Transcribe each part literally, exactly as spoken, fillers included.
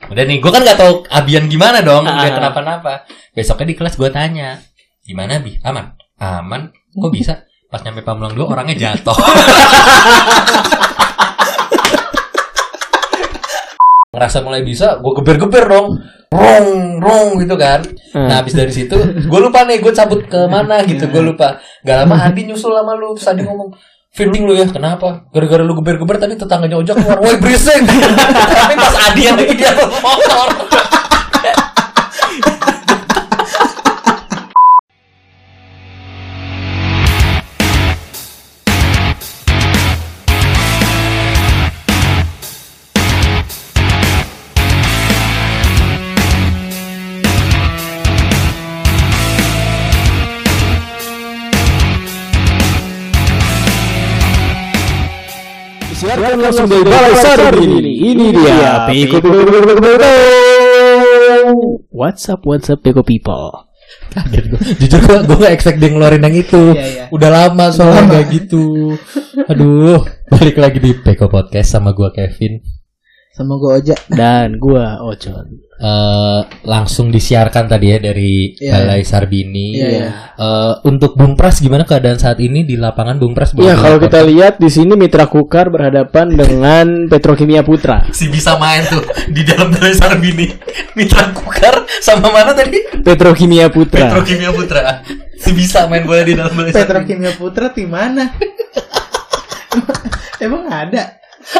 Udah nih, gue kan nggak tahu Abian gimana dong, nggak kenapa-napa. Besoknya di kelas gue tanya, gimana Bi? Aman? Aman? Kok bisa? Pas nyampe Pamulang dua orangnya jatuh. Ngerasa mulai bisa, gue geber-geber dong, rong, rong gitu kan. Nah habis dari situ, gue lupa nih, gue cabut ke mana gitu, gue lupa. Gak lama Adi nyusul sama lu, terus Adi ngomong, fitting lu ya, kenapa? Gara-gara lu geber-geber tadi tetangganya ojek keluar, woi berisik. Tapi pas Adi yang lagi dia motor. Siarkan langsung dari Balai Sarbini. Ini dia Peko People. What's up, what's up Peko People. Kaget gue. Jujur gue gue gak expect dia ngeluarin yang itu. Iya, iya. Udah lama soalnya kayak gitu. Aduh, balik lagi di Peko Podcast sama gue Kevin, sama gue Oja dan gue Ocon. Uh, langsung disiarkan tadi ya dari yeah. Balai Sarbini. Yeah, yeah. Uh, untuk Bung Pras gimana keadaan saat ini di lapangan Bung Pras? Ya kalau kita lihat di sini Mitra Kukar berhadapan dengan Petrokimia Putra. Si bisa main tuh di dalam Balai Sarbini. Mitra Kukar sama mana tadi? Petrokimia Putra. Petrokimia Putra. Si bisa main bola di dalam Balai Sarbini. Petrokimia Putra di mana? Emang ada?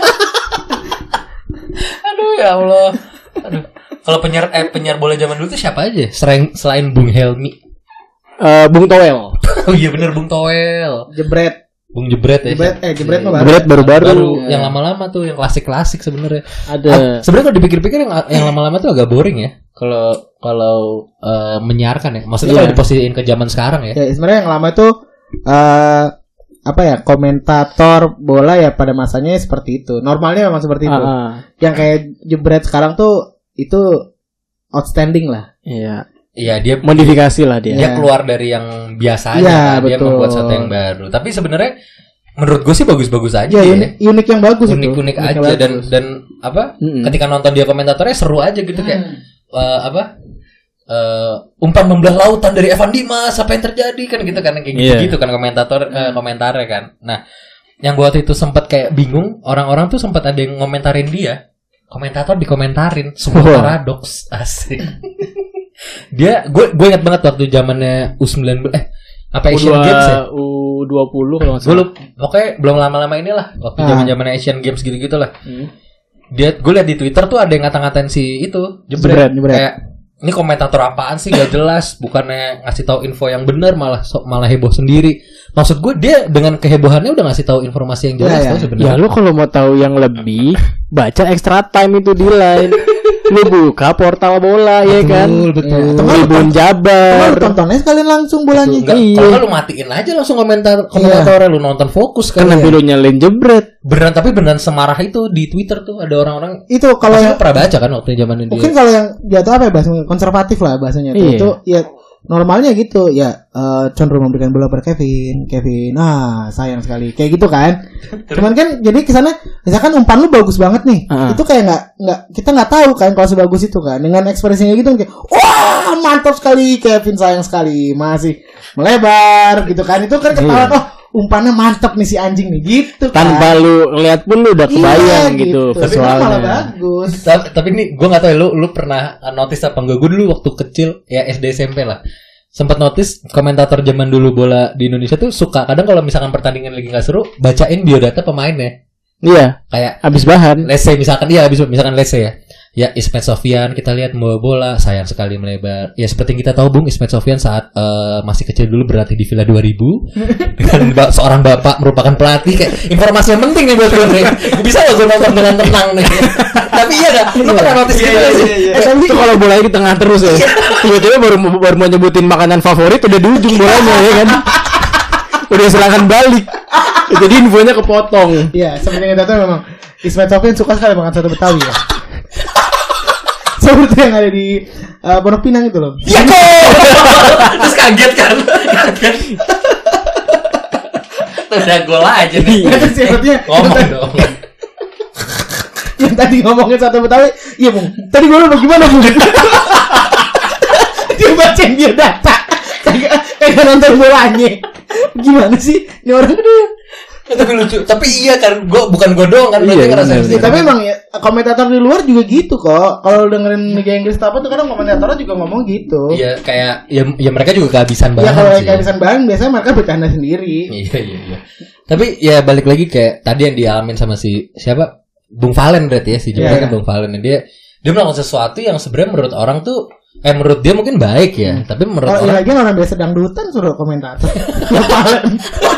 Aduh ya Allah. Aduh. Kalau penyiar eh penyiar bola zaman dulu tuh siapa aja? Selain selain Bung Helmi. Uh, Bung Toel. Oh iya bener Bung Toel. Jebret. Bung Jebret ya. Jebret eh Jebret mah baru. Jebret baru-baru. Baru, yang lama-lama tuh, yang klasik-klasik sebenarnya. Ada. Ah, sebenarnya kalau dipikir-pikir yang yang lama-lama tuh agak boring ya. Kalau kalau uh, menyiarkan ya. Maksudnya yeah. kalau diposisiin ke zaman sekarang ya. Ya sebenarnya yang lama tuh uh, apa ya, komentator bola ya pada masanya seperti itu. Normalnya memang seperti itu. Uh-huh. Yang kayak Jebret sekarang tuh itu outstanding lah. Iya. Iya, dia modifikasi lah dia. Dia keluar dari yang biasa aja, ya, kan? Dia membuat sesuatu yang baru. Tapi sebenarnya menurut gue sih bagus-bagus aja ya. ya. Unik, unik yang bagus unik, itu. Unik-unik aja bagus. dan dan apa? Mm-hmm. Ketika nonton dia komentatornya seru aja gitu kayak mm. uh, apa? Uh, umpan membelah lautan dari Evan Dimas, apa yang terjadi kan gitu kan kayak gitu-gitu yeah. kan komentator uh, komentarnya kan. Nah, yang gue waktu itu sempat kayak bingung, orang-orang tuh sempat ada yang ngomentarin dia. Komentator dikomentarin, semua oh. paradoks asik. Dia, gue gue ingat banget waktu zamannya U sembilan belas eh apa Asian Games ya? U dua puluh kalau nggak salah. Gue lupa, pokoknya belum lama-lama inilah waktu zaman-zamannya Asian Games gitu-gitu lah. Hmm. Dia, gue liat di Twitter tuh ada yang ngata-ngatain si itu Jebret, Jebret. Kayak ini komentator apaan sih gak jelas, bukannya ngasih tahu info yang benar malah so, malah heboh sendiri. Maksud gue dia dengan kehebohannya udah ngasih tahu informasi yang jelas ya, ya. sebenarnya. Ya lu kalau mau tahu yang lebih baca Extra Time itu di Line. Lu buka portal bola betul, ya kan. Betul betul. Tribun Jabar. Lu tontonnya sekalian langsung bolanya. Iya. Kalau lu matiin aja langsung komentar komentatornya iya. Lu nonton fokus kan. Kan nanti lu nyalain Jebret. Beneran tapi beneran semarah itu di Twitter tuh ada orang-orang. Itu kalau yang pernah baca kan waktu zaman dia. Mungkin kalau yang jatuh apa ya bahasanya konservatif lah bahasanya iya. Itu ya normalnya gitu ya uh, cenderung memberikan bola per Kevin, Kevin, ah sayang sekali, kayak gitu kan. Cuman kan jadi kesana, misalkan umpan lu bagus banget nih, uh-huh. itu kayak nggak nggak kita nggak tahu kan kalau sebagus itu kan, dengan ekspresinya gitu kayak, wah mantap sekali Kevin, sayang sekali masih melebar gitu kan, itu kan ketawa yeah. oh umpannya mantap nih si anjing nih gitu kan. Tanpa lu ngeliat pun lu udah kebayang iya, gitu, gitu. Visualnya. Malah bagus. Tapi, tapi ini gue nggak tahu ya, lu lu pernah notice apa enggak? Gue dulu waktu kecil ya S D S M P lah sempat notice komentator zaman dulu bola di Indonesia tuh suka kadang kalau misalkan pertandingan lagi nggak seru bacain biodata pemainnya. Iya. Kayak habis bahan. Let's say misalkan iya habis misalkan let's say ya. Ya Ismet Sofyan kita lihat membawa bola sayang sekali melebar. Ya seperti yang kita tahu Bung Ismet Sofyan saat uh, masih kecil dulu berlatih di Villa dua ribu dengan ba- seorang bapak merupakan pelatih kayak informasi yang penting nih buat gue nih. Gue bisa loh gue nonton dengan tenang nih. Tapi iya dah, lu pernah notice gitu iya, iya, iya. Eh, itu kalau bolanya di tengah terus ya. Tiba-tiba baru baru mau nyebutin makanan favorit udah di ujung bolanya ya kan. Udah serangan balik. Jadi infonya kepotong. Iya, sebenarnya itu memang Ismet Sofyan suka sekali makan soto Betawi ya. Seperti yang ada di uh, Pondok Pinang itu loh. Iya kok. Terus kaget kan? Kaget. Udah gol aja nih. Terus sebetulnya ngomong dong. Yang tadi ngomongin satu Betawi, iya Bung. Tadi gue lupa gimana Bung? Dia bacain dia data, kayak kayak nonton bolanya. Gimana sih? Ini orang tapi lucu. Tapi iya kan, gua bukan gua doang kan iya, ngerasain iya, sih. Ya, tapi emang ya komentator di luar juga gitu kok. Kalau dengerin Liga Inggris apa tuh kadang komentatornya juga ngomong gitu. Iya, kayak ya, ya mereka juga kehabisan bahan. Ya kalau sih. kehabisan bahan biasanya mereka bercanda sendiri. Iya, iya, iya. Tapi ya balik lagi kayak tadi yang dialamin sama si siapa? Bung Valen berarti ya, si Jepang yeah, kan Bung Valen. Dia dia melakukan sesuatu yang sebenarnya menurut orang tuh eh menurut dia mungkin baik ya, hmm. tapi menurut kalau orang lagi orang biasa dangdutan suruh komentator. Bung Valen.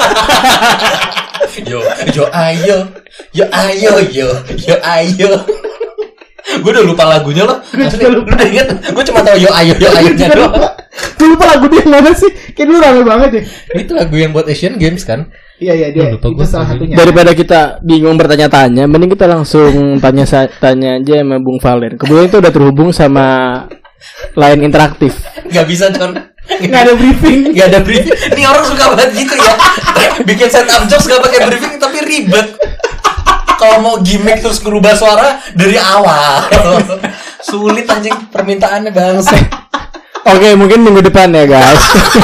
Yo, yo ayo, yo ayo, yo, yo ayo. Gue udah lupa lagunya loh. Asli, lu udah inget? Gue cuma tahu yo ayo, yo ayo-nya doang. Gue lupa lagu dia mana sih? Kayak dulu rame banget deh. Itu lagu yang buat Asian Games kan? Iya iya dia. Oh, itu salah satunya. Daripada kita bingung bertanya-tanya, mending kita langsung tanya tanya aja sama Bung Valen. Kemudian itu udah terhubung sama line interaktif. Gak bisa Con. Gak ada briefing. Gak ada briefing. Ini orang suka banget gitu ya. Bikin setup jokes gak pakai briefing tapi ribet. Kalau mau gimmick terus ngerubah suara dari awal. Sulit anjing permintaannya bangsa. Oke, mungkin minggu depan ya guys.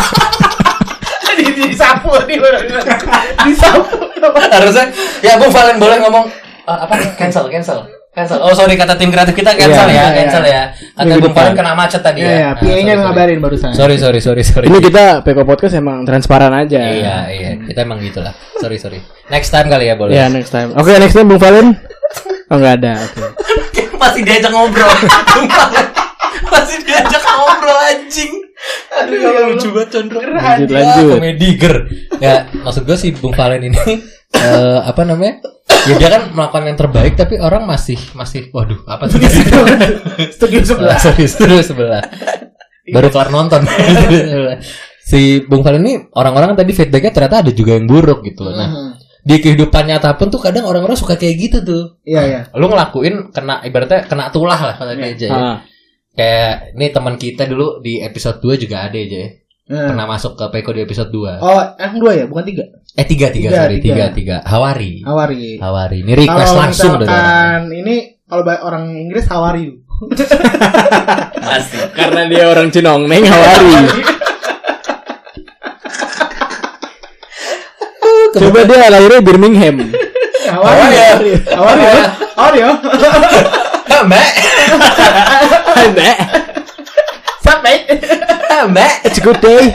Disapu nih disapu. Harusnya ya Bung Valen boleh ngomong uh, apa cancel cancel. Cancel. Oh sorry kata tim kreatif kita cancel yeah, ya, cancel yeah. ya. Kata Bung Valen kena macet tadi yeah, ya. Iya, P A-nya nah, ngabarin barusan. Sorry sorry sorry sorry. Ini kita Peko Podcast emang transparan aja. Iya iya, kita emang gitulah. Sorry sorry. Next time kali ya boleh. Iya yeah, next time. Oke okay, next time Bung Valen. Oh nggak ada. Oke. Okay. Masih diajak ngobrol. Bung Valen masih diajak ngobrol anjing. Aduh ya lucu banget Condro. Lanjut lanjut. Komedi ger. Ya maksud gue sih Bung Valen ini uh, apa namanya? Ya dia kan melakukan yang terbaik tapi orang masih masih waduh apa sih studio sebelah sorry studio sebelah baru kelar nonton. Si Bung Valen ini orang-orang tadi feedbacknya ternyata ada juga yang buruk gitu loh. Nah di kehidupan nyata pun tuh kadang orang-orang suka kayak gitu tuh. Iya iya. Lu ngelakuin kena ibaratnya kena tulah lah kata dia aja ya. Kayak ini teman kita dulu di episode dua juga ada aja ya. Hmm. Pernah masuk ke Peko di episode dua. Oh, yang dua ya, bukan tiga. Eh tiga tiga, tiga sorry tiga tiga. Hawari. Hawari. Hawari. Ini request kalau langsung dari orang. Ini kalau orang Inggris how are you? Pasti. Karena dia orang Cinongneng how are you? Coba dia lahirnya Birmingham. How are you? How are you? How are you? Mbak. Mbak. Sampai. Mbak. It's a good day.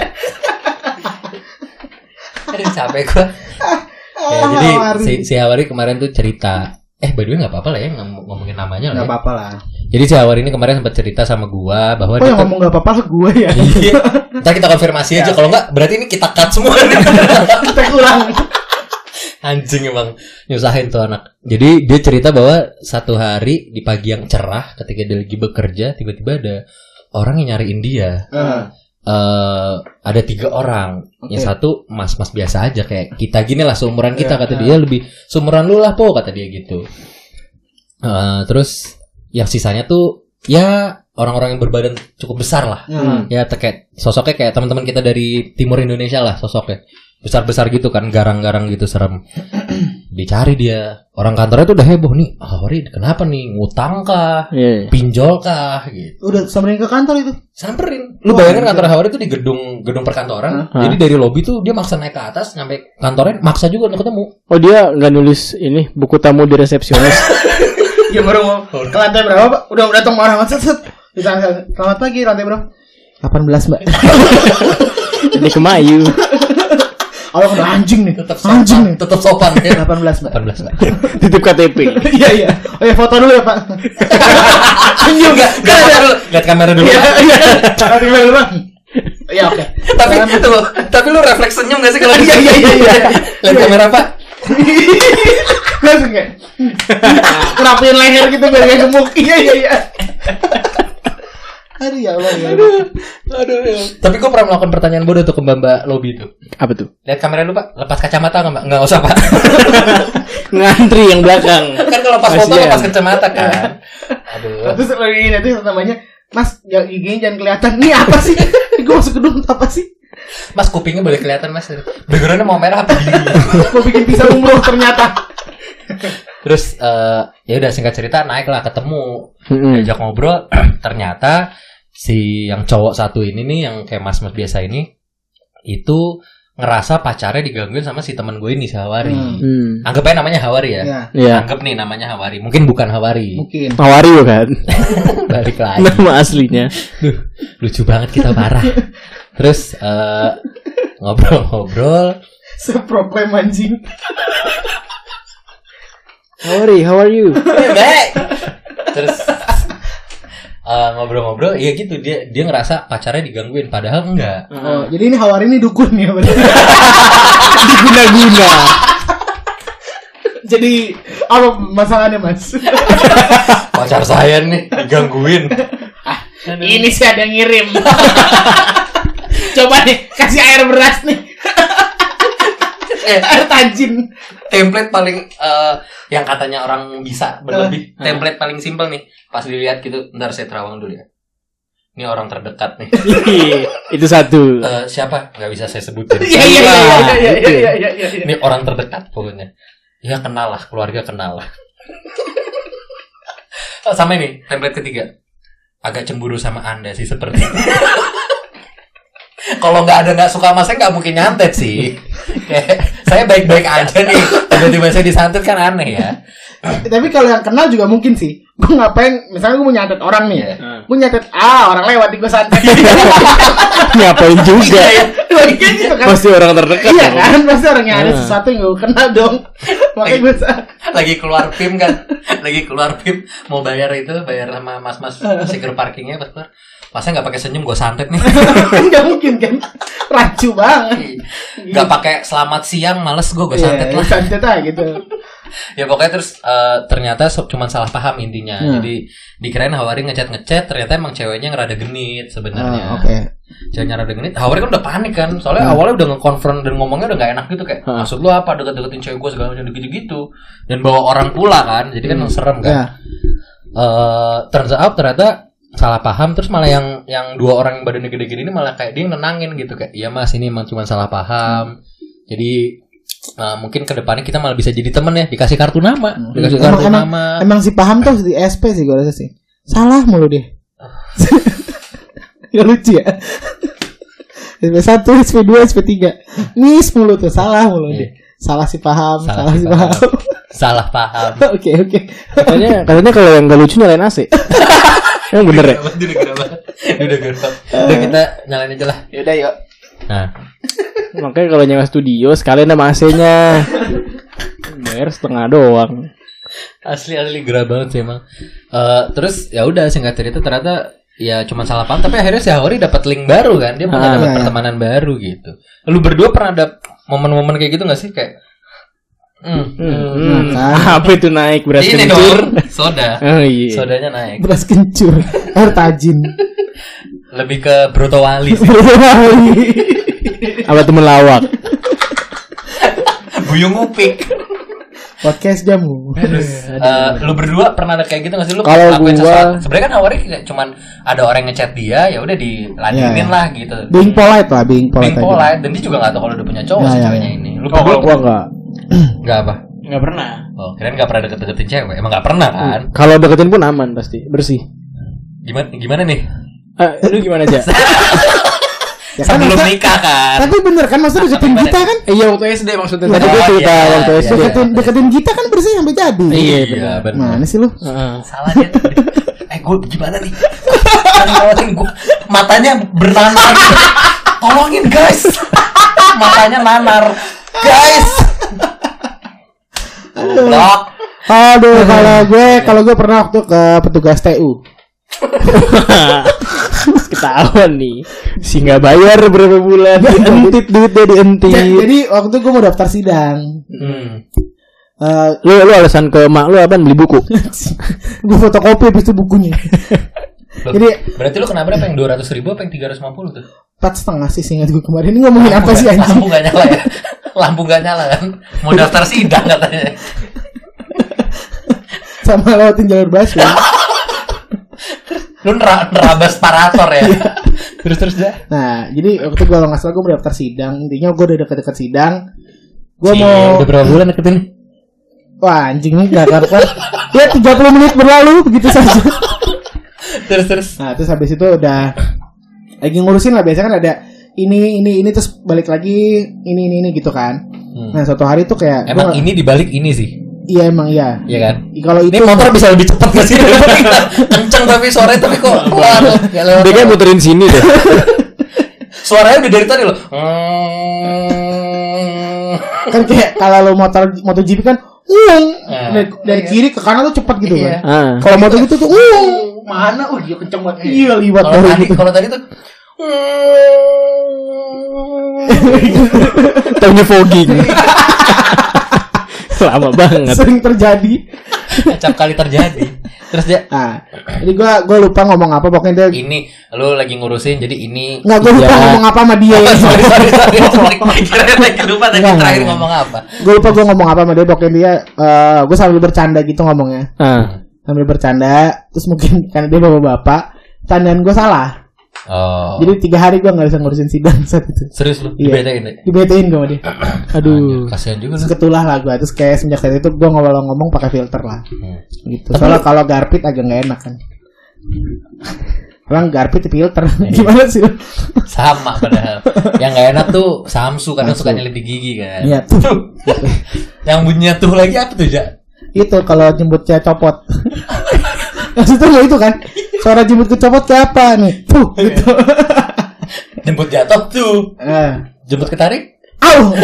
Aduh capek gue. Ya, jadi si, si Hawari kemarin tuh cerita. Eh by the way gak apa-apa lah ya ngom- ngomongin namanya lah. Gak apa-apa lah. Jadi si Hawari ini kemarin sempat cerita sama gua bahwa oh, dia yang ngomong gak apa-apa lah gue ya. Iya. Ntar kita konfirmasi aja. Kalau enggak berarti ini kita cut semua. Kita kurang. Anjing emang nyusahin tuh anak. Jadi dia cerita bahwa satu hari di pagi yang cerah ketika dia lagi bekerja tiba-tiba ada orang yang nyariin dia. Uh. Uh, ada tiga orang. Okay. Yang satu mas-mas biasa aja kayak kita gini lah seumuran kita yeah, kata yeah. dia lebih seumuran lu lah po kata dia gitu. Uh, terus yang sisanya tuh ya orang-orang yang berbadan cukup besar lah. Hmm. Ya kayak sosoknya kayak teman-teman kita dari timur Indonesia lah sosoknya. Besar-besar gitu kan, garang-garang gitu serem. Dicari dia. Orang kantornya tuh udah heboh nih. Ah, Hawari kenapa nih? Ngutang kah? Yeah. Pinjol kah? Gitu. Udah samperin ke kantor itu. Samperin. Lu bayangin kantor Hawari itu di gedung gedung perkantoran. Huh? Jadi dari lobi tuh dia maksa naik ke atas nyampe kantornya maksa juga untuk ketemu. Oh, dia enggak nulis ini buku tamu di resepsionis. Ya baru mau ke lantai berapa, Pak? Udah udah datang orang set set. Selamat pagi, lantai berapa? delapan belas, Mbak. Ini Kemayu. Kalau udah anjing nih, tetap anjing nih, tetap sopan ya. delapan belas, Mbak. delapan belas, Mbak. Titip K T P. Iya, iya. Oh ya, foto dulu ya, Pak. Senyum enggak? Enggak foto dulu. Lihat kamera dulu. Iya, iya. Kamera dulu, Bang. Iya, oke. Tapi itu loh. Tapi lu refleks senyum enggak sih kalau iya, iya, iya. Lihat kamera, Pak. Langsung kayak ngerapiin leher gitu biar gak gemuk. Iya, iya, iya. Aduh ya Allah ya. Aduh, aduh ya. Tapi gue pernah melakukan pertanyaan bodoh tuh ke mbak-mbak lobby itu. Apa tuh? Lihat kamera lu Pak, lepas kacamata nggak Mbak? Nggak usah Pak. Ngantri yang belakang. Kan kalau pas foto lepas kacamata kan. Aduh. Terus lagi nanti namanya, Mas, giginya jangan kelihatan. Ini apa sih? Gue masuk gedung apa sih? Mas kupingnya boleh kelihatan Mas. Backgroundnya mau merah apa gini? Mau bikin pisang umroh ternyata. Terus uh, ya udah singkat cerita naik lah ketemu, Mm-mm. diajak ngobrol. Ternyata si yang cowok satu ini nih yang kayak mas-mas biasa ini itu ngerasa pacarnya digangguin sama si teman gue ini si Hawari. Hmm. Anggap aja namanya Hawari ya. Iya. Iya. Anggap nih namanya Hawari. Mungkin bukan Hawari. Mungkin. Hawari kan. Balik lagi. Nama aslinya. Duh, lucu banget kita parah. Terus uh, ngobrol-ngobrol. Seproklem anjing. Hawari, how are you? Baik. Terus uh, ngobrol-ngobrol, ya gitu dia dia ngerasa pacarnya digangguin, padahal enggak. Oh, jadi ini Hawari ini dukun ya berarti. Diguna-guna. Jadi apa masalahnya Mas? Pacar saya nih digangguin. Ini sih ada yang ngirim. Coba nih kasih air beras nih. Eh, air tajin. template paling uh, yang katanya orang bisa berlebih. Uh, template paling simpel nih. Pas dilihat gitu, ntar saya terawang dulu ya. Ini orang terdekat nih. Itu satu. Uh, siapa? Gak bisa saya sebutin. Iya iya iya iya iya iya iya. Ini orang terdekat pokoknya. Ya kenal lah, keluarga kenal lah. Oh, sama ini, template ketiga. Agak cemburu sama Anda sih seperti. Kalau nggak ada nggak suka sama saya nggak mungkin nyantet sih. Kayak saya baik-baik aja nih. Tiba-tiba saya disantet kan aneh ya. Tapi kalau yang kenal juga mungkin sih. Gue ngapain? Misalnya gue mau nyantet orang nih. Yeah. Gue nyantet ah orang lewat gue santet. Ngapain juga ya? Gitu kan. Pasti orang terdekat. Iya ya, kan, pasti orangnya ada Hmm. sesuatu yang gue kenal dong. Makanya gue Lagi keluar P I M kan. Lagi keluar P I M mau bayar itu, bayar sama mas-mas secure parkingnya pas keluar. Pasnya nggak pakai senyum, gue santet nih. nggak mungkin kan, rancu banget. Nggak pakai selamat siang, males gue gue santet Iya, lah. santet aja gitu. Ya pokoknya terus uh, ternyata so, cuma salah paham intinya. Hmm. Jadi dikirain Hawari ngechat-ngechat, ternyata emang ceweknya ngerada genit sebenarnya. Ah, Oke. Okay. Ceweknya rada genit. Hawari kan udah panik kan. Soalnya Hmm. awalnya udah nge-confront dan ngomongnya udah gak enak gitu kayak, Hmm. maksud lu apa deket-deketin cewek gue segala macam gitu-gitu. Dan bawa orang pula kan. Jadi kan Hmm. serem kan. Yeah. Uh, turns out ternyata salah paham, terus malah yang yang dua orang yang badannya gede-gede ini malah kayak dia nenangin gitu kayak, iya mas ini emang cuma salah paham. Jadi uh, mungkin kedepannya kita malah bisa jadi temen ya, dikasih kartu nama, Hmm. dikasih Emang, kartu emang, nama. emang si paham tuh di S P sih gue rasa sih. Salah mulu dia. Gak lucu ya. S P satu, S P dua, S P tiga. Miss mulu tuh, salah mulu dia. Salah si paham, salah, salah si paham. paham. Salah paham. Oke oke. Katanya katanya kalau yang gak lucu nyalain A C. Yang bener ya? Udah gerah banget. Udah gerah. Udah kita nyalain aja lah. Yaudah yuk. Nah, Makanya kalau nyewa studio sekalian sama A C-nya. Bayar setengah doang. asli asli gerah banget sih emang. Uh, terus ya udah singkat cerita ternyata ya cuma salah paham, tapi akhirnya si Hawari dapat link baru kan, dia punya Ah, dapat iya, pertemanan baru gitu. Lu berdua pernah ada momen-momen kayak gitu nggak sih kayak? Hmm, Hmm, Makan. apa itu naik beras ini kencur? dong, soda. Oh iya. Sodanya naik. Beras kencur, air tajin. Lebih ke Broto Wali sih. Apa temen lawak? Buyung Upik. Podcast jamu. Terus uh, lu berdua pernah ada kayak gitu nggak sih, lu Kalau lakuin gua- sesuatu? Sebenarnya kan Hawari kayak cuman ada orang yang ngechat dia, ya udah diladenin Iya, iya. lah gitu. Being polite lah, being polite. Being aja. polite, dan dia juga nggak tahu kalau udah punya cowok Ya, si ya, ceweknya ya. ini. Lu Oh, kalau berdua gua enggak. nggak apa? Enggak pernah. Oh, kirain nggak pernah deket-deketin cewek. Emang nggak pernah kan? Kalau deketin pun aman pasti, bersih. Gimana gimana nih? Eh, lu gimana aja? Ya kan, Sebelum masa- nikah kan? Tapi bener kan, masa deketin Gimana kita nih? kan? Iya waktu S D maksudnya. Oh, Tadi gue cerita iya, waktu iya, S D. iya. Deketin, deketin kita kan bersih sampai jadi. Iya, Iya, benar. Mana sih lu? Heeh. Salah dia. Eh, gue gimana nih? Kan ngelawatin gue, matanya bernanar. Gitu. Tolongin guys. Matanya nanar. Guys. Blok. Aduh, kalau gue, kalau gue pernah waktu ke petugas T U. Ketahuan nih. Si nggak bayar berapa bulan. Dientit duitnya dientit. Ja- Jadi waktu itu gue mau daftar sidang. Hmm. Eh, Lu lu alasan ke mak lu apa beli buku? gue fotokopi habis itu bukunya. Loh, Jadi berarti lu kena berapa yang dua ratus ribu apa yang tiga ratus lima puluh tuh? empat setengah sih seingat gue kemarin. Ini ngomongin apa sih anjing? Lampu gak nyala ya? Lampu gak nyala kan? Mau daftar sidang katanya. Sama lewatin jalur busway. Lu nera- nerabas parator ya? Terus terus dah. Nah, jadi waktu gue kalau nggak salah gue mau daftar sidang. Intinya gue udah deket-deket sidang. Gue Si, mau udah berapa bulan deketin? Wah anjing nih gak karuan. Ya tiga puluh menit berlalu begitu saja. Terus terus. Nah terus habis itu udah lagi ngurusin lah, biasanya kan ada ini ini ini terus balik lagi ini ini ini gitu kan. Hmm. Nah suatu hari tuh kayak emang gua, ini dibalik ini sih. Iya emang iya. Iya kan. Kalau itu ini motor bisa lebih cepat gak sih? Kenceng tapi suaranya tapi kok pelan. Dia kayak muterin sini deh. Suaranya udah dari tadi loh. Kan kayak kalau lo motor MotoGP kan uang nah, dari, dari iya. kiri ke kanan tuh cepat gitu iya. kan. Ah. Kalau motor gitu tuh uang mana? Oh dia kenceng banget. Iya liwat kalau tadi gitu. Kalau tadi tuh taunya fogging. Lama banget. Sering terjadi. Acap kali terjadi. Terus dia ah, jadi gue gue lupa ngomong apa pokoknya dia ini lu lagi ngurusin jadi ini nggak gue lupa ya. ngomong apa sama dia. Oh, sorry sorry sorry. Kira-kira lagi lupa tadi terakhir ngomong apa. Gue lupa gue ngomong apa sama dia pokoknya dia uh, gue sambil bercanda gitu ngomongnya. Uh. Sambil bercanda terus mungkin karena dia bapak-bapak candaan gue salah. Oh. Jadi tiga hari gue nggak bisa ngurusin sidang saat itu. Serius lu? Iya. Dibetain deh. Dibetain gue sama dia. Aduh. Kasian juga. Seketulah lah gue. Terus kayak semenjak saat itu gue ngomong-ngomong pakai filter lah. Hmm. Gitu. Soalnya kalau garpit agak nggak enak kan. Orang garpit filter. Gimana sih? Sama padahal. Yang nggak enak tuh Samsu karena sukanya lebih gigi kan. Iya tuh. Yang bunyinya tuh lagi apa tuh Jak? Itu kalau jemputnya copot. Maksudnya lo itu kan suara jemput kecopot kayak apa nih? Tuh gitu. Jemput jatuh tuh. Uh. Jemput ketarik? Au.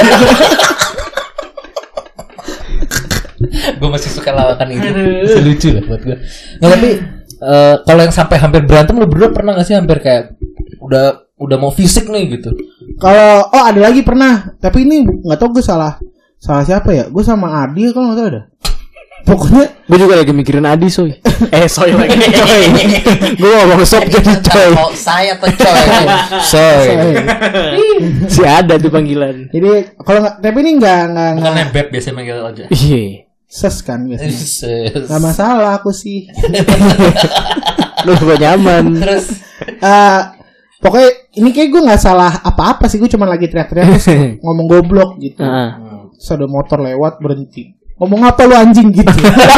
Gue masih suka lawakan itu. Lucu lah buat gue. Nah, tapi uh, kalau yang sampai hampir berantem lo berdua pernah gak sih hampir kayak udah udah mau fisik nih gitu? Kalau oh ada lagi pernah, tapi ini nggak tahu gue salah salah siapa ya? Gue sama Adi kalau nggak tahu ada. Pokoknya gue juga lagi mikirin Adi soy. Eh soy lagi coy. Gue ngomong sob jadi coy. Oh, saya tuh coy. Soy. Si ada tuh panggilan. Jadi kalau nggak tapi ini nggak nggak bukan nebeb biasanya manggil aja. Iya. Ses kan biasanya. Ses. Gak masalah aku sih. Lu gak nyaman. Terus uh, pokoknya ini kayak gue nggak salah apa-apa sih, gue cuma lagi teriak-teriak terus ngomong goblok gitu. Uh-huh. Terus ada motor lewat berhenti. Ngomong apa lu anjing gitu.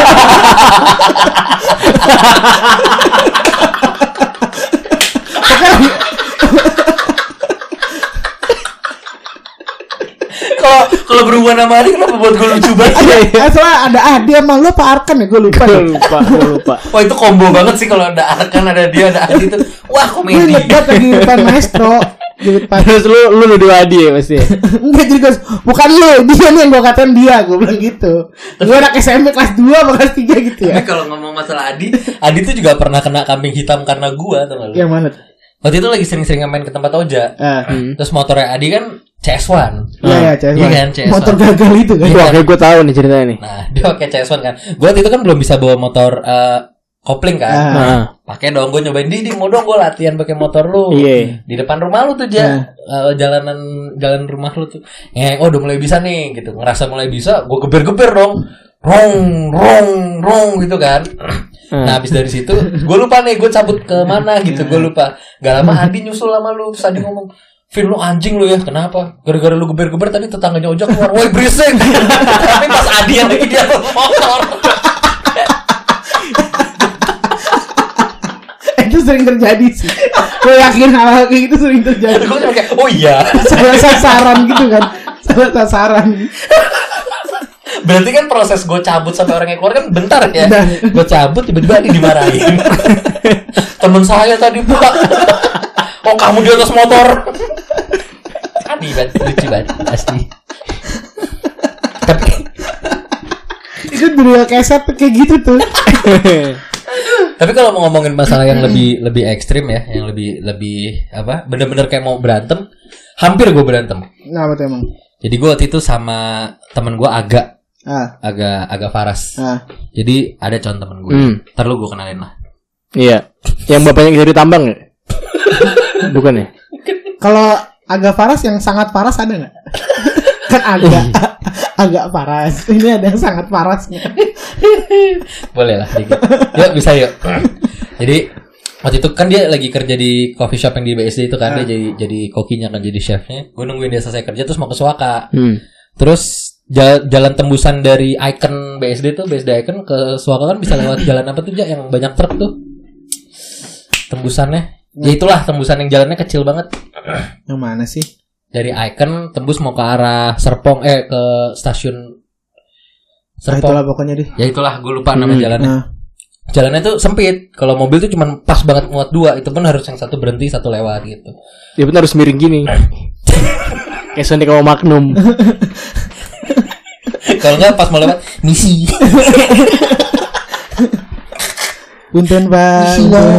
Kalau kalau berhubungan sama Adi kenapa buat gue lucu banget? Iya, soalnya ada Adi sama lu apa Arkan ya, gue lupa. Gue lupa, gue lupa. Wah itu combo banget sih kalau ada Arkan, ada dia, ada Adi itu. Wah komedi. Gue inget lagi depan maestro. Terus lu lu nuduh Adi ya pasti. Enggak jadi guys, bukan lu, dia nih yang gue katain dia, gue bilang gitu. Gue anak S M P kelas dua atau kelas tiga gitu ya. Tapi kalau ngomong masalah Adi, Adi tuh juga pernah kena kambing hitam karena gue, tau gak lu? Yang mana tuh? Waktu itu lagi sering-sering main ke tempat Oja. Uh, hmm. Terus motornya Adi kan C S satu. Iya ya C S satu. Iya kan C S satu. Motor gagal itu kan. Wah, kayak gue tahu nih ceritanya nih. Nah, dia pakai C S satu kan. Gue waktu itu kan belum bisa bawa motor uh, kopling kan. Uh. Pakai dong, gue nyobain Didi, mau dong gue latihan pakai motor lu. Yeah. Di depan rumah lu tuh aja. Uh. Uh, jalanan jalan rumah lu tuh. Eh, oh udah mulai bisa nih gitu. Ngerasa mulai bisa, gue geber-geber dong. Rong, rong, rong gitu kan. Hmm. Nah habis dari situ gue lupa nih gue cabut ke mana gitu, gue lupa. Gak lama Adi nyusul sama lu. Terus Adi ngomong, Vin lu anjing lu ya, kenapa? Gara-gara lu geber-geber tadi tetangganya Ojak keluar, woi berisik. Tapi pas Adi yang lagi dia motor. Itu sering terjadi sih. Gue yakin hal-hal kayak gitu sering terjadi. Gue kayak oh iya. Salah sasaran gitu kan. Salah sasaran. Berarti kan proses gue cabut sampai orangnya keluar kan bentar ya. Gue cabut tiba-tiba Adi dimarahin. Temen saya tadi Pak. Oh kamu di atas motor. Adi banget, lucu banget pasti. Tapi itu dunia keset kayak gitu tuh. Tapi kalau mau ngomongin masalah yang lebih lebih ekstrim ya, yang lebih lebih apa? Bener-bener kayak mau berantem, hampir gue berantem. Nah, apa tuh emang? Jadi gue waktu itu sama temen gue agak Ah. agak agak Faras. Ah. Jadi ada contoh temen gue. Hmm. Ntar lu gue kenalin lah. Iya. Yang bapaknya dari tambang ya? Bukan ya? Kalau agak Faras yang sangat Faras ada nggak? Kan agak agak Faras. Ini ada yang sangat Farasnya. Boleh lah dikit. Yuk bisa yuk. Jadi waktu itu kan dia lagi kerja di coffee shop yang di B S D itu kan. Ah. Dia jadi jadi kokinya kan, jadi chefnya. Gue nungguin dia selesai kerja terus mau ke Suaka. Hmm. Terus Jalan, jalan tembusan dari Icon B S D tuh, B S D Icon ke Suaka kan bisa lewat jalan apa tuh, Jak, yang banyak truk tuh. Tembusannya. Ya itulah tembusan yang jalannya kecil banget. Yang mana sih? Dari Icon tembus mau ke arah Serpong eh ke stasiun Serpong. Nah, itulah pokoknya deh. Ya itulah, gue lupa nama hmm, jalannya. Nah. Jalannya tuh sempit. Kalau mobil tuh cuma pas banget muat dua. Itu pun harus yang satu berhenti, satu lewat gitu. Ya benar, harus miring gini. Kayak Sonic sama Magnum. Kalau enggak pas mau lewat misi. Punten Pak.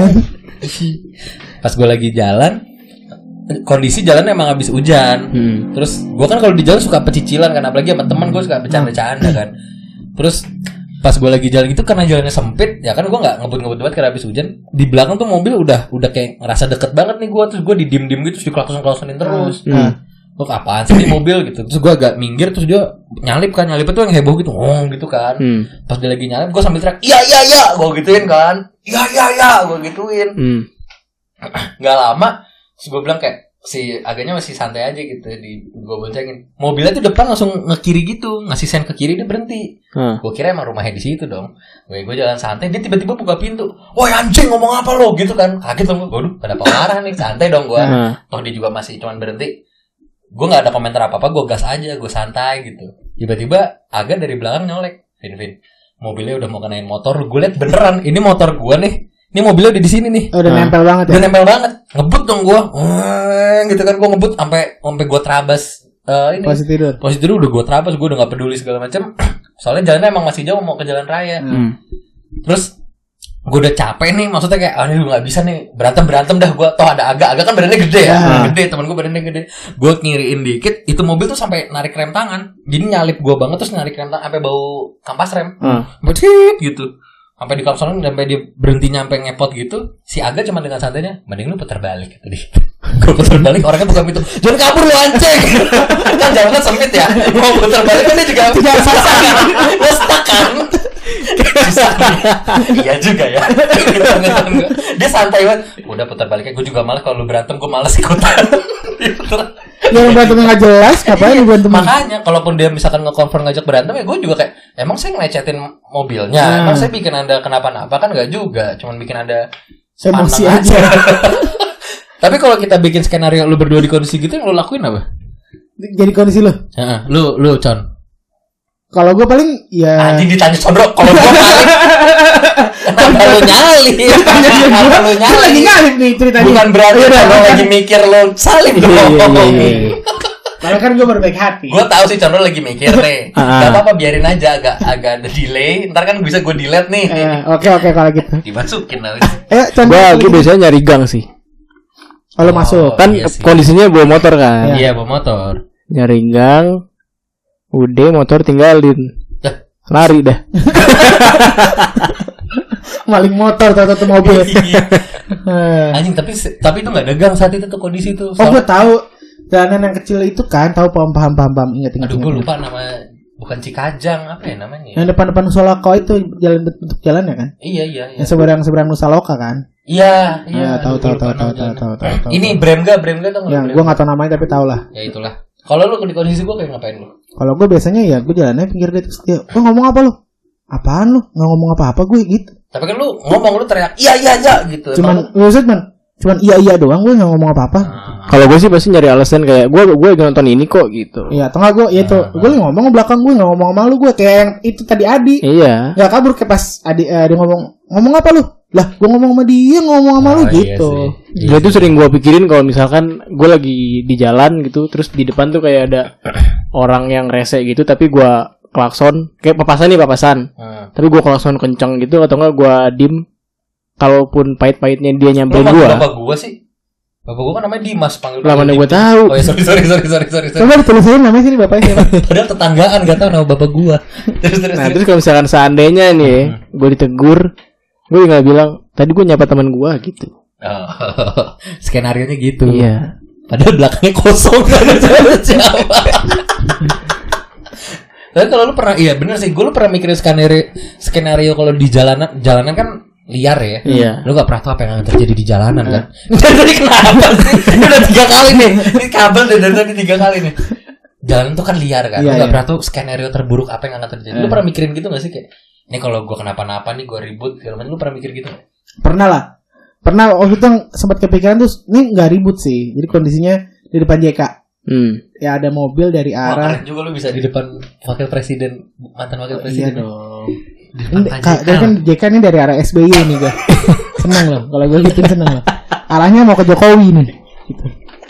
Pas gue lagi jalan, kondisi jalan emang habis hujan. Hmm. Terus gue kan kalau di jalan suka pecicilan kan, apalagi sama teman gue suka bercanda-canda kan. Terus pas gue lagi jalan itu karena jalannya sempit, ya kan gue nggak ngebut-ngebut banget karena habis hujan. Di belakang tuh mobil udah udah kayak ngerasa deket banget nih gue, terus gue didim-dim gitu, terus dikelakson-kelaksonin terus. Hmm. Gue apaan sih di mobil gitu. Terus gue agak minggir, terus dia nyalip kan, nyalip itu yang heboh gitu, ngong gitu kan. Hmm. Pas dia lagi nyalip, gue sambil teriak, iya iya iya, gue gituin kan, iya iya iya, gue gituin. Hmm. Gak lama, terus gue bilang kayak si agaknya masih santai aja gitu, di gue boncengin. Mobilnya tuh depan langsung ngekiri gitu, ngasih sen ke kiri, dia berhenti. Hmm. Gue kira emang rumahnya di situ dong. Gue gue jalan santai, dia tiba-tiba buka pintu. Woi anjing, ngomong apa lo gitu kan? Kaget dong gue. Waduh, pada pengarah nih, santai dong gue. Hmm. Toh dia juga masih cuman berhenti. Gue nggak ada komentar apa apa, gue gas aja, gue santai gitu. Tiba-tiba Aga dari belakang nyolek, Vin Vin, mobilnya udah mau kenain motor, gue liat beneran, ini motor gue nih, ini mobilnya udah di sini nih. Oh, udah nah, nempel banget ya. Udah nempel banget, ngebut dong gue, hmm, gitu kan gue ngebut sampai sampai gue terabas uh, ini. Posisi tidur. Posisi tidur udah gue terabas, gue udah nggak peduli segala macam. Soalnya jalannya emang masih jauh mau ke jalan raya. Hmm. Terus gue udah capek nih, maksudnya kayak ah ini nggak bisa nih berantem berantem dah gue, toh ada Aga Aga kan badannya gede ya, yeah. gede teman gue badannya gede, gue ngiriin dikit, itu mobil tuh sampai narik rem tangan, jadi nyalip gue banget terus narik rem tangan sampai bau kampas rem, hmm. betit gitu, sampai di kapsulin sampai dia berhenti nyampe ngepot gitu, si Aga cuma dengan santainya, mending lu putar balik gitu deh, gue putar balik orangnya buka pintu, jangan kabur lu anjing, kan jalannya sempit ya, mau putar balik kan dia juga tidak susah kan, dia stuck kan. Iya juga ya. Dia santai banget. Udah putar baliknya, gue juga malas kalau lu berantem, gue malas ikutan. Yang berantem nggak jelas, ngapain berantem? Makanya, kalaupun dia misalkan nge-confirm ngajak berantem, ya gue juga kayak, emang saya ngelecetin mobilnya, hmm. emang saya bikin anda kenapa-napa kan nggak juga, cuman bikin anda emosi aja. Tapi kalau kita bikin skenario lu berdua di kondisi gitu, yang lu lakuin apa? Jadi kondisi lu? Heeh, lu lu Con. Kalau gue paling ya anjing ditanya Condro, kalau gue paling kenapa lu nyalip? Kenapa lu nyalip? Lagi nyalip nih ceritanya. Bukan berarti kalau lagi mikir lu salib dong. Karena kan gue berbaik hati. Gue tahu sih Condro lagi mikir nih. Gak apa-apa, biarin aja agak agak ada delay. Ntar kan bisa gue delete nih. Oke oke kalau gitu. Dimasukin lagi. Gue biasanya nyari gang sih. Kalau masuk kan kondisinya bawa motor kan. Iya bawa motor. Nyari gang. Udah motor tinggalin, lari dah. Maling motor atau mobil. Anjing, tapi tapi itu nggak dagang saat itu tuh kondisi itu. Oh gue tahu jalanan yang kecil itu kan, tahu paham paham paham paham ingat ingat. Aduh gue lupa nama, bukan Cikajang apa ya namanya? Yang depan-depan Nusaloko itu jalan bentuk jalan ya kan? Iya iya. iya. Yang seberang seberang Nusaloka kan? Iya iya. Tahu tahu tahu tahu tahu tahu. Ini Bremga Bremga tuh. Yang gue nggak tahu namanya tapi tahu lah. Ya itulah. Kalau lu di kondisi gue kayak ngapain lu? Kalau gue biasanya ya gue jalannya pinggir dia terus dia, "Lu ngomong apa lu?" "Apaan lu? Enggak ngomong apa-apa gue," gitu. Tapi kan lu ngomong, lu teriak, "Iya iya iya" gitu. Cuman maksud man, cuman iya iya doang, gue enggak ngomong apa-apa. Nah. Kalau gue sih pasti nyari alasan kayak gue gue lagi nonton ini kok gitu. Iya, tengah gue ya itu, nah, gue lagi ngomong belakang gue enggak ngomong sama lu, gue kayak yang itu tadi Adi. Iya. Enggak kabur kayak pas Adi uh, dia ngomong, "Ngomong apa lu?" Lah, gue ngomong sama dia, ngomong sama oh, lu gitu. Iya, itu sering gue pikirin kalau misalkan gue lagi di jalan gitu, terus di depan tuh kayak ada orang yang rese gitu, tapi gue klakson, kayak papasan nih papasan, hmm. tapi gue klakson kenceng gitu, atau enggak gue dim, kalaupun pahit-pahitnya dia nyamperin gue. Bapak gue sih, bapak gue kan namanya Dimas, panggil. Lah mana gue tahu. Oh ya sorry sorry sorry sorry sorry. Coba ditulisin namanya sini bapaknya siapa? Padahal tetanggaan gak tahu nama bapak gue. Terus terus. Nah terus kalau misalkan seandainya nih, hmm. gue ditegur. Gue tinggal bilang, tadi gue nyapa teman gue gitu. Oh, skenarionya gitu. Iya. Padahal belakangnya kosong gak ada siapa-siapa. Tapi kalau lu pernah, iya bener sih, gue lu pernah mikirin skenario, skenario kalau di jalanan, jalanan kan liar ya. Iya. Lu gak pernah tahu apa yang akan terjadi di jalanan kan. Dari tadi kenapa sih? Ini udah tiga kali nih. Ini kabel dari tadi tiga kali nih. jalan tuh kan liar kan. Iya, Lu gak iya. pernah tuh skenario terburuk apa yang akan terjadi. Lu Eh. pernah mikirin gitu gak sih kayak ini kalau gue kenapa-napa nih gue ribut segala macam. Lu pernah mikir gitu gak? Pernah lah. Pernah waktu itu yang sempat kepikiran tuh, ini nggak ribut sih. Jadi kondisinya di depan J K. Hmm. Ya ada mobil dari Wah, arah. keren juga lu bisa di depan wakil presiden, mantan wakil Iya presiden. dong. Di depan Ini, Pak Kak, J K. dia kan J K ini dari arah S B Y nih gue. Senang loh. Kalau gue gituin senang loh. Arahnya mau ke Jokowi nih. Gitu.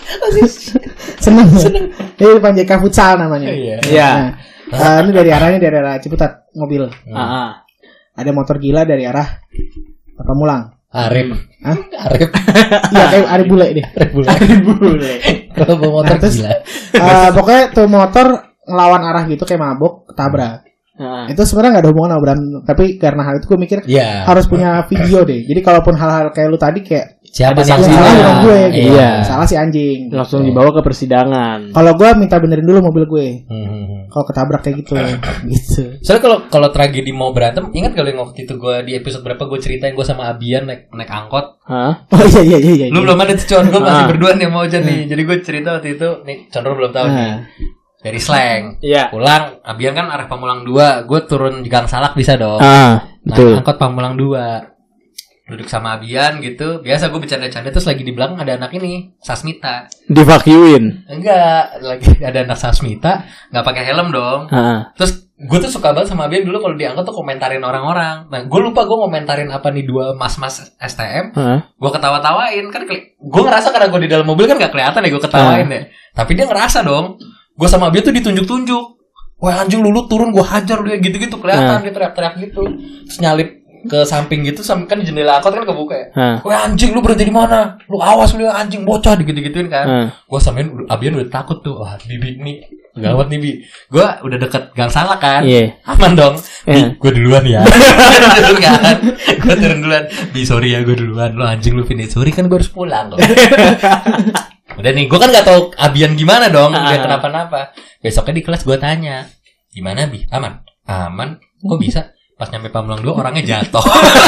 Senang loh. Ini depan J K Futsal namanya. Iya. Iya. Nah, uh, ini dari arahnya dari arah Ciputat mobil. Hmm. Ah, ah. Ada motor gila dari arah Pamulang. Arif. Hah? Arif. Iya kayak Arif bule deh. Arif bule. Kalau bawa motor Nah, terus- gila. Uh, pokoknya tuh motor ngelawan arah gitu kayak mabok ketabrak. Ah. Itu sebenarnya nggak ada hubungan sama berantem, tapi karena hal itu gue mikir Iya. harus punya video deh. Jadi kalaupun hal-hal kayak lu tadi kayak Siapa Ada yang yang sanksinya. salah bukan gue gitu. Iya. Salah si anjing. Langsung dibawa ke persidangan. Kalau gue minta benerin dulu mobil gue. Hmm. Kalau ketabrak kayak gitu, gitu. Soalnya kalau kalau tragedi mau berantem, ingat kalau yang waktu itu gue di episode berapa gue ceritain gue sama Abian naik naik angkot. Hah? Oh iya iya iya. iya. Lu belum ada tuh Con, gue masih Ah. berdua nih mau aja nih. Jadi gue cerita waktu itu, nih Condro belum tahu nih. Ah. Dari Slang. Iya. Pulang, Abian kan arah Pamulang dua, gue turun di Gang Salak bisa dong. Ah, betul. Naik angkot Pamulang dua. Duduk sama Abian gitu. Biasa gue bercanda-canda terus lagi di belakang ada anak ini, Sasmita. Divacuumin. Enggak, lagi ada anak Sasmita, enggak pakai helm dong. Ah. Terus gue tuh suka banget sama Abian dulu kalau diangkot tuh komentarin orang-orang. Nah, gue lupa gue komentarin apa nih dua mas-mas S T M. Ah. Gue ketawa-tawain kan, gue ngerasa karena gue di dalam mobil kan gak kelihatan ya gue ketawain ya. Tapi dia ngerasa dong. Gue sama Abian tuh ditunjuk-tunjuk. Wah anjing lu, lu turun gue hajar lu ya gitu-gitu kelihatan Ah. dia teriak-teriak gitu. Terus nyalip ke samping gitu, sam- kan jendela angkot kan kebuka ya. Ah. Wah anjing lu berhenti di mana? Lu awas lu ya anjing bocah digitu-gituin kan. Ah. Gue sama Abian udah takut tuh. Wah bibi nih gawat nih Bi. Gue udah deket Gang Salak kan. Iya. Aman dong. Iya. Gue duluan ya. Turun kan. Gue turun duluan. Bi sorry ya gue duluan. Lu anjing lu finish. Sorry kan gue harus pulang loh. Udah nih, gue kan gak tahu Abian gimana dong. Dia kenapa-napa. Besoknya di kelas gue tanya, gimana Bi? Aman? Aman. Kok bisa? Pas nyampe Pamulang dua orangnya jatuh.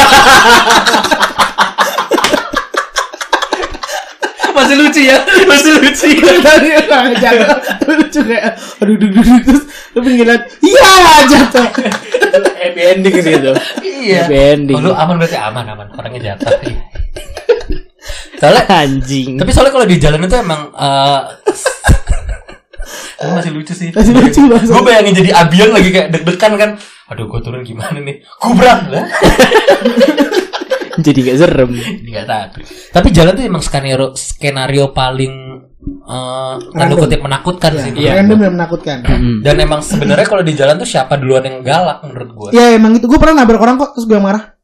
Masih lucu ya? Masih lucu ya? Tadi orang jatuh, lucu kayak aduh aduh aduh terus lu pinggiran, iya jatuh. Happy ending gitu. Iya. Happy ending. Oh, lu aman berarti aman aman. Orangnya jatuh. Soalnya Anjing. tapi soalnya kalau di jalan itu emang eh uh, masih lucu sih. Masih lucu banget. Gue bayangin jadi Abian lagi kayak deg-degan kan. Aduh, gue turun gimana nih? Kubrak lah. Jadi gak serem. Enggak tahu. Tapi jalan tuh emang skenario skenario paling eh tanda Random. kutip menakutkan Ya, sih. Iya. random dan menakutkan. Dan emang sebenarnya kalau di jalan tuh siapa duluan yang galak menurut gue? Ya emang itu gue pernah nabrak orang kok terus gue yang marah.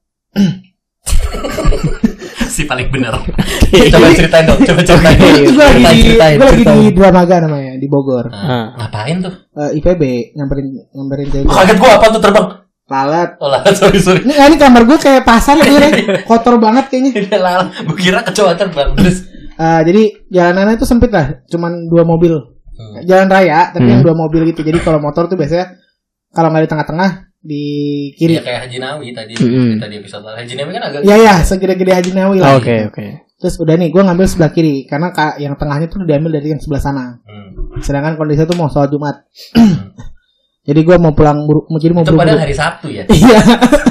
Si paling benar. Coba ceritain dong, coba ceritain. Itu gue lagi Ceritain, di ceritain, gue lagi di ceritain. Dramaga namanya di Bogor. Nah, ngapain tuh? Eh, I P B nyamperin nyamperin cewek. Kaget gue apa tuh terbang? Lalat. Oh lah, sorry sorry. Ini ini kamar gue kayak pasar ya, gue kotor banget kayaknya. Ini lah, gue kira kecoa terbang terus. Eh, jadi jalanannya itu sempit lah, cuman dua mobil. Hmm. Jalan raya, tapi Hmm. yang dua mobil gitu. Jadi kalau motor tuh biasanya kalau nggak di tengah-tengah di kiri. Ya kayak Haji Nawi tadi, Mm-hmm. tadi episode lalu. Haji Nawi kan agak. Ya ya, segede-gede Haji Nawi lah. Oke, oke. Terus udah nih, gue ngambil sebelah kiri karena ka- yang tengahnya tuh diambil dari yang sebelah sana. Hmm. Sedangkan kondisinya tuh mau sholat Jumat. Jadi gue mau pulang buru, mau jadi mau Itu padahal buru-buru. hari Sabtu ya. Iya.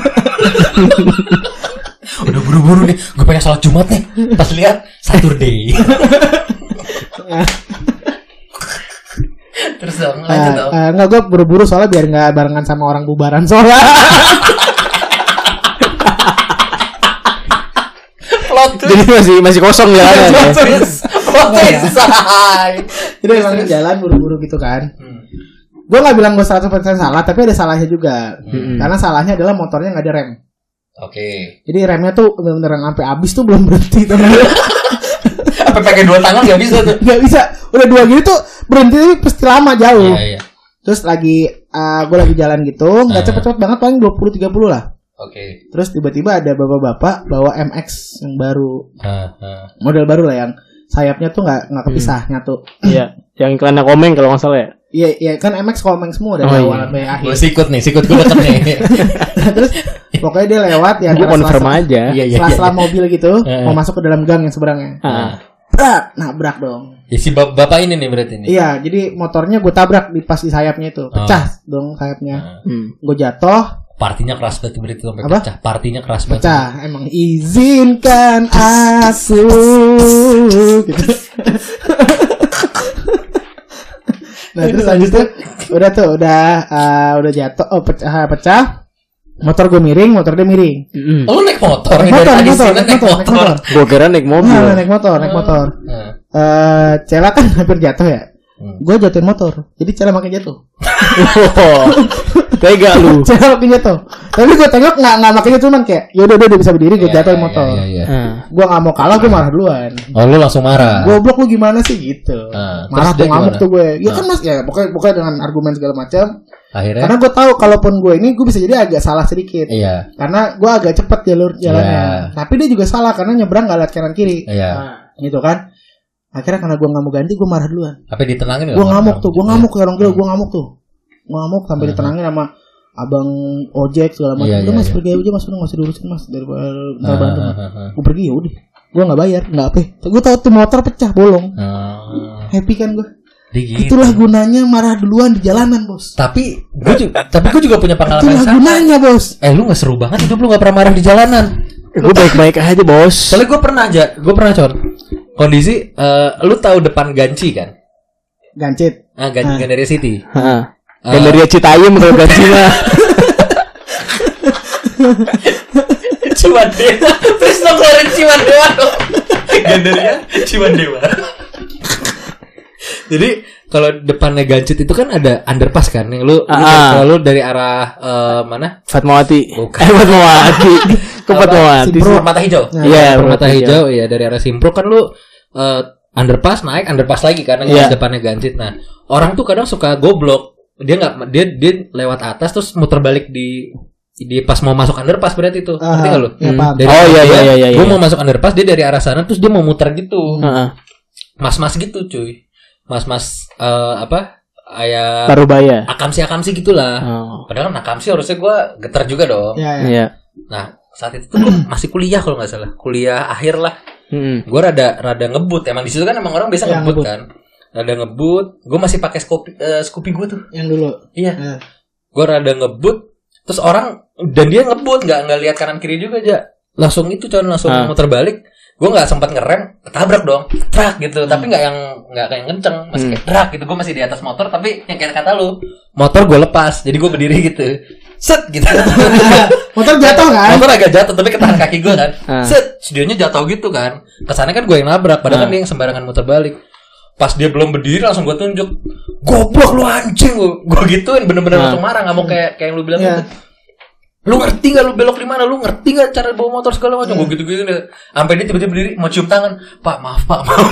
Udah buru-buru nih, gue pengen sholat Jumat nih. Pas lihat Saturday. Terus dong, lanjut dong. Uh, enggak, gue buru-buru soalnya biar nggak barengan sama orang bubaran sholat. Plot twist. Jadi masih masih kosong jalanan ya. Plot twist. say. Jadi emang jalan buru-buru gitu kan. Hmm. Gue nggak bilang gue seratus persen salah, tapi ada salahnya juga. Hmm. Karena salahnya adalah motornya nggak ada rem. Oke. Jadi remnya tuh bener-bener sampai habis tuh belum berhenti teman. Apa pakai dua tangan nggak bisa tuh? Nggak bisa. Udah dua gitu tuh berhenti tapi pasti lama jauh. Iya iya. Terus lagi uh, gue lagi jalan gitu, nggak Ah. cepet-cepet banget, paling dua puluh tiga puluh lah. Oke. Terus tiba-tiba ada bapak-bapak bawa M X yang baru, Ah, ah. model baru lah yang sayapnya tuh nggak nggak kepisah nyatu. Iya, yang iklannya komeng kalau nggak salah ya. Iya iya kan M X komeng semua dari Oh, awal iya. sampai akhir. Gue sikut nih, sikut gue deket nih. Terus pokoknya dia lewat ya Gue confirm sela-sela- aja. Iya iya. sela-sela mobil gitu Eh. mau masuk ke dalam gang yang seberangnya. Ah. Brak, nabrak dong. Ya si bap- bapak ini nih berarti ini. Iya, jadi motornya gue tabrak di pas di sayapnya itu, pecah oh. dong sayapnya. Hmm. Gue jatuh. Partinya keras banget berarti sampai apa? Pecah. Partinya keras banget. Pecah. Emang izinkan aku. Gitu. Nah terus habis itu udah tuh udah uh, udah jatuh, oh pecah pecah. Motor gue miring, motor dia miring. Mm. Oh, lu naik motor? Naik motor, naik motor, naik motor, naik motor. Gue kira naik mobil. Nah, naik motor, naik motor. Uh. Uh, Cela kan hampir jatuh ya. Hmm. Gue jatuhin motor, jadi Cela makin jatuh. Tega lu. Cela makin jatuh. Tapi gue tengok nggak nggak makin jatuh, cuman kayak, yaudah udah udah bisa berdiri, gue yeah, jatuhin motor. Yeah, yeah, yeah. Gue nggak mau kalah, gue marah duluan. Oh, lu langsung marah? Goblok lu gimana sih gitu? Uh, marah tuh ngamuk tuh gue. Ya uh. kan mas, ya pokoknya pokoknya dengan argumen segala macam. Akhirnya? Karena gue tahu kalaupun gue ini gue bisa jadi agak salah sedikit. Iya. Karena gue agak cepet jalur jalannya. Iya. Tapi dia juga salah karena nyebrang gak lihat kanan kiri. Iya. Nah, gitu kan. Akhirnya karena gue gak mau ganti gue marah duluan. Apa ditenangin? Gue ngamuk tuh, gue ngamuk ya orang gila, gue ngamuk tuh. Gue ngamuk sampai uh-huh. ditenangin sama abang ojek segala macam. Udah iya, mas iya. pergi aja mas, udah nggak usah diurusin mas daripada ntar bantu. Gue pergi ya udah. Gue nggak bayar, nggak apa. Gue tahu tuh motor pecah bolong. Uh. Happy kan gue. Gitu. Itulah gunanya marah duluan di jalanan bos. Tapi gue juga, tapi gue juga punya pengalaman Itulah sama. Gunanya bos. Eh lu nggak seru banget hidup lu nggak pernah marah di jalanan. Gue baik-baik aja bos. Soalnya gue pernah aja, gue pernah con. Kondisi, uh, lu tahu depan Ganci kan? Gancit. Ah Gan- Gandaria City. Heeh. Uh, Gandaria Citayam kalau Ganci mah. Ciwandewa. Please dong keluarin Ciwandewa dong. Gandaria Ciwandewa. Jadi kalau depannya Gancit itu kan ada underpass kan yang lu, lu kalau lu dari arah uh, mana? Fatmawati. Bukan. Eh Fatmawati. Ke Fatmawati. Permata Hijau. Iya, yeah, Permata Hijau ya dari arah Simpro kan lu uh, underpass naik underpass lagi karena yeah. depannya Gancit. Nah, orang tuh kadang suka goblok. Dia enggak dia dia lewat atas terus muter balik di di pas mau masuk underpass berarti itu. Ngerti enggak lu? Ya, hmm. Oh iya iya iya iya. Gua mau masuk underpass dia dari arah sana terus dia mau muter gitu. Heeh. Mas-mas gitu, cuy. Mas-mas uh, apa kayak Parubaya akamsi-akamsi gitulah. Oh. Padahal kan akamsi harusnya gue getar juga dong. Iya. Ya. Nah saat itu tuh gue masih kuliah kalau nggak salah, kuliah akhir lah. Hmm. Gue rada rada ngebut. Emang di situ kan emang orang biasa ya, ngebut, ngebut kan. Rada ngebut. Gue masih pakai Scoopy uh, Scoopy gue tuh. Yang dulu. Iya. Ya. Gue rada ngebut. Terus orang dan dia ngebut nggak nggak lihat kanan kiri juga aja. Langsung itu cuman langsung ah. muter balik. Gue nggak sempat ngerem, ketabrak dong, trak gitu. Hmm. Tapi nggak yang nggak kayak kenceng, masih kayak trak gitu. Gue masih di atas motor, tapi yang kayak kata lu, motor gue lepas, jadi gue berdiri gitu, set gitu. Motor jatuh kan? Motor agak jatuh, tapi ketahan kaki gue kan, set. Studionya jatuh gitu kan. Kesannya kan gue yang nabrak, padahal kan dia yang sembarangan muter balik. Pas dia belum berdiri langsung gue tunjuk, goblok lu anjing, gue gituin bener-bener langsung marah, nggak mau kayak kayak yang lu bilang gitu. Lu ngerti gak lu belok di mana? Lu ngerti gak cara bawa motor segala macam? Yeah. Gue gitu-gitu deh. Sampai dia tiba-tiba berdiri mau cium tangan. Pak, maaf Pak, maaf.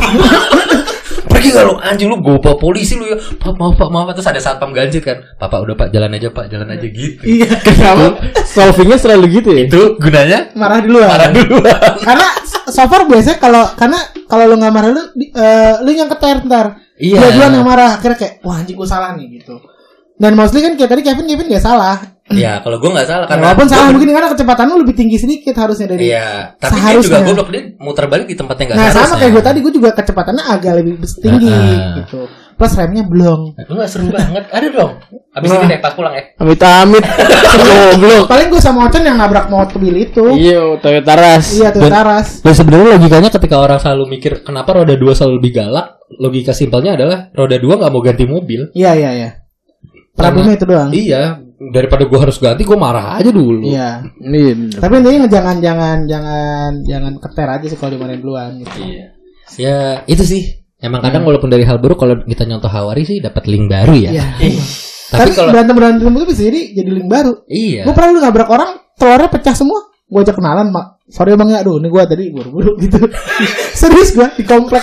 Pergi gak lu anjing lu gue bawa polisi lu ya. Pak, maaf Pak, maaf. Terus ada satpam Gancit kan. Pak, Pak udah Pak, jalan aja Pak, jalan aja gitu. Iya. Kenapa? Solvingnya selalu gitu ya? Itu gunanya marah duluan. Marah duluan. Karena so far biasanya kalau karena kalau lu nggak marah lu uh, lu yang keter ntar. Iya. Dia duluan yang marah. Akhirnya kayak wah anjing gue salah nih gitu. Dan mostly kan kayak tadi Kevin Kevin gak salah. Iya, kalau gue nggak salah karena walaupun salah mungkin karena kecepatan lu lebih tinggi sedikit harusnya dari. Iya, tapi dia juga goblok, dia muter balik di tempat yang nggak nah, seharusnya. Nah sama kayak gue tadi, gue juga kecepatannya agak lebih tinggi uh-huh. gitu. Plus remnya belum. Lu nggak seru banget, ada dong. Abis ini deh pas pulang ya. Amit-amit. Goblok. Paling gue sama Ocon yang nabrak mobil itu. Iya, Toyota Ras. Iya, Toyota Ras. Dan sebenarnya logikanya ketika orang selalu mikir kenapa roda dua selalu lebih galak, logika simpelnya adalah roda dua nggak mau ganti mobil. Iya, iya, iya. Problemnya itu doang. Iya, daripada gue harus ganti, gue marah aja dulu. Iya. Iya. Tapi intinya jangan jangan jangan jangan keter aja sih kalau dimarahin duluan gitu. Iya. Ya itu sih. Emang kadang hmm. walaupun dari hal buruk kalau kita nyontoh Hawari sih dapat link baru ya. Iya. Eh. Tapi, Tapi kalau berantem berantem itu bisa jadi jadi link baru. Iya. Gue pernah lu nabrak orang, telurnya pecah semua. Gue ajak kenalan, mak. Sorry bang ya, aduh ini gue tadi buru-buru gitu. Serius gue di komplek.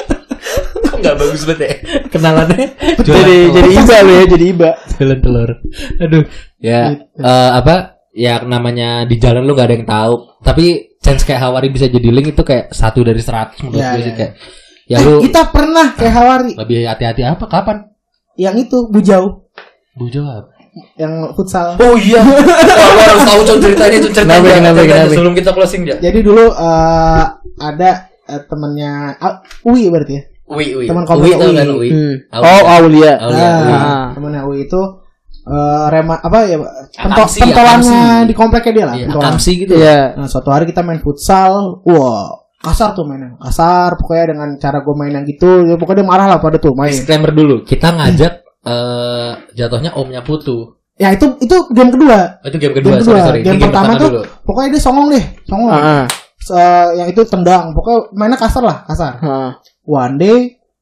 Nggak bagus banget ya kenalannya. Jadi jadi iba lu ya, jadi iba. Jualan telur. Aduh. Ya gitu. uh, apa? Ya namanya di jalan lu gak ada yang tahu. Tapi chance kayak Hawari bisa jadi link itu kayak satu dari seratus menurut ya, gue sih ya. Kayak. Ya eh, lu. Kita pernah kayak Hawari. Lebih hati-hati apa? Kapan? Yang itu Bujau. Bujau apa? Yang futsal. Oh iya. Wah, lu harus tahu con ceritanya, con ceritanya. Kenapa, kenapa, kenapa. Sebelum kita closing ya. Jadi dulu uh, ada uh, temannya uh, Uwi berarti ya. Uwi Uwi. Teman komplek Uwi. Kan, Uwi. Hmm. Oh, Aulia. Aulia. Ah, temannya Uwi itu uh, rema apa ya pentol, Akamsi, pentolannya Akamsi. di kompleknya dia lah. Iya, Pentolan. Akamsi gitu. Iya. Nah, suatu hari kita main futsal. Wah, kasar tuh mainnya. Kasar pokoknya dengan cara gue main yang gitu. Ya, pokoknya dia marah lah pada tuh main. Disclaimer dulu, kita ngajak uh, jatuhnya omnya Putu. Ya itu itu game kedua. Oh, itu game kedua, Game sorry kedua. sorry. Game, Ini pertama tuh dulu. pokoknya dia songong deh, songong. Heeh. Se- yang itu tendang, pokoknya mainnya kasar lah, kasar. Heeh. One day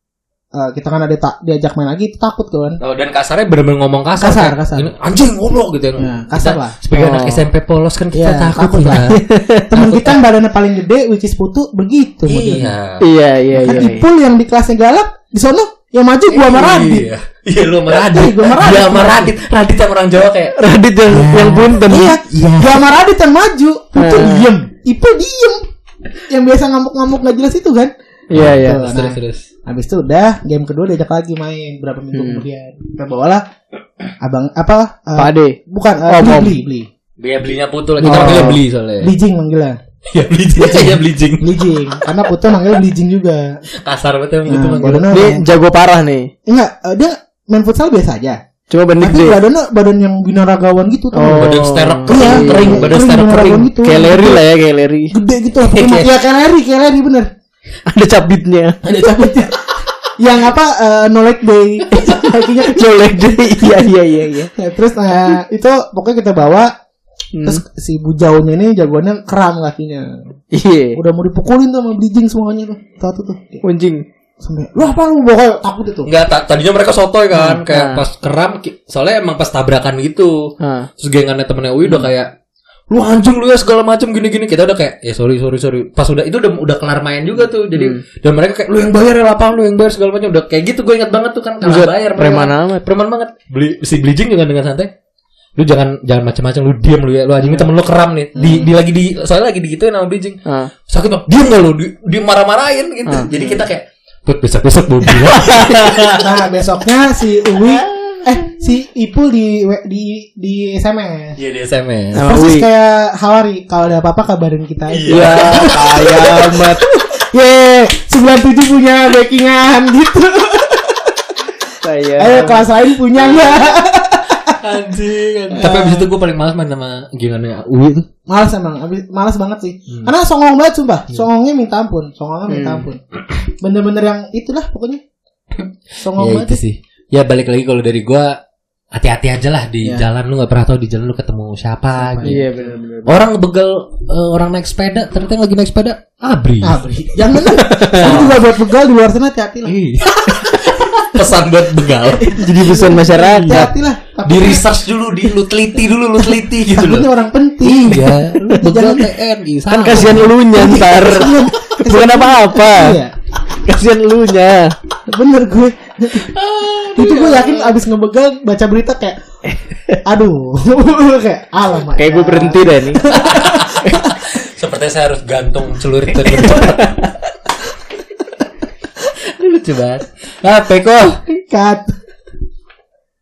uh, kita kan ada ta- diajak main lagi, takut kan. Oh, dan kasarnya bener-bener ngomong kasar. Kasar, kayak, kasar. Ini, anjing goblok gitu Ya, kasar Kita lah. sebagai Oh. anak S M P polos kan kita Ya, takut, takut lah. Temen kita yang badannya paling gede, which is Putu, begitu modelnya. Iya. Iya, iya, Kan iya. Ipul yang di kelasnya galak, di sono yang maju gua sama Radit. Iya. Iya lu sama Radit. Iya, gua sama Radit. Dia sama Radit. Radit sama orang Jawa kayak Radit yang yang punten. Iya, gua sama Radit yang maju, Putu Eh. diem, Ipul diem. Yang biasa ngamuk-ngamuk gak jelas itu kan. Iya, iya. Tuh, terus nah, terus. habis itu udah game kedua diajak lagi main berapa minggu Hmm. kemudian. Kita bawalah abang apa? uh, Pak Ade. Bukan, uh, Oh, beli, Om. beli, beli. Dia belinya Putu lagi. Kita Oh. manggilnya beli soalnya. Bleaching manggilnya. Ya bleaching. Iya bleaching. Bleaching. Karena Putu manggilnya bleaching juga. Kasar betul gitu Nah, manggilnya. badannya Ini emang- jago parah nih. enggak, uh, dia main futsal biasa aja. Cuma bandit Tapi deh. badannya badan yang binaragawan gitu tuh. Oh. Badan sterok Iya, kering, kering, iya, badan kering, sterok kering. binaragawan gitu. Kayak Larry lah ya, kayak Larry. Gede gitu lah. Pokoknya ya kayak Larry, kayak Larry bener. Ada cabitnya. Ada cabutnya. Yang apa? Uh, no leg day. Kakinya kecil. Colek deh. Iya, iya, iya, iya. Ya, terus nah, itu pokoknya kita bawa. Hmm. Terus si bujaunya ini jagoannya kram kakinya. Iya. Udah mau dipukulin tuh sama bleaching semuanya tuh. Satu tuh. Anjing. Sampai, "Lu apa lu?" Pokoknya takut itu. Enggak, ta- tadinya mereka sotoy kan, Hmm. kayak Nah. pas keram ki- soalnya emang pas tabrakan gitu. Nah. Terus gengannya temennya Uwi udah kayak lu anjing lu ya segala macam gini-gini. Kita udah kayak ya sorry sorry sorry. Pas udah itu udah udah kelar main juga tuh. Jadi Hmm. dan mereka kayak lu yang bayar ya lapangan lu yang bayar segala macam. Udah kayak gitu gue ingat banget tuh kan Buset, kalah bayar mereka. preman amat. Preman banget. Beli si bleaching juga dengan santai. Lu jangan jangan macam-macam lu diam lu ya. Lu anjing temen lu keram nih. Di, di lagi di soalnya lagi digituin sama bleaching. Ah. Sakit banget. Diam enggak lu? Di, di marah-marahin gitu. Ah. Jadi kita kayak Put besok-besok mau bilang. Nah, besoknya si Uwi eh si Ipul di di di S M S. Iya di S M S. Sama Persis Uwi. kayak Hawari, kalau ada apa-apa kabarin kita aja. Iya, kaya amat. Ye, sembilan puluh tujuh punya backingan gitu. Saya. Ayo kelas lain punya enggak? Anjing. Tapi abis itu gue paling malas main sama gengannya Uwi tuh. Malas emang, abis, malas banget sih. Hmm. Karena songong banget sumpah. Songongnya minta ampun, songongnya minta Hmm. ampun. Bener-bener yang itulah pokoknya. Songong Ya banget. itu sih. Ya balik lagi kalau dari gue hati-hati aja lah di Ya. jalan, lu nggak pernah tahu di jalan lu ketemu siapa gitu. Iya, benar-benar. Orang begal eh, orang naik sepeda, ternyata yang lagi naik sepeda abri. Ah, Bri. Jangan lah. Itu juga buat begal di luar sana hati-hati lah. Iya. Pesan buat begal. Jadi pesan masyarakat. Hati-hati lah. Di research dulu, di lu teliti dulu, lu teliti gitu Takutnya loh. orang penting. Iya, lu begal T N I. Kan kasihan elunya ntar. Bukan apa-apa. Iya. Kasihan elunya. Bener gue. Itu gue yakin abis ngebegal baca berita kayak aduh. Kayak alamak. Kayak gue berhenti deh nih. Sepertinya saya harus gantung celurit dan bercepat. Lucu banget. Ah, Peko. Cut.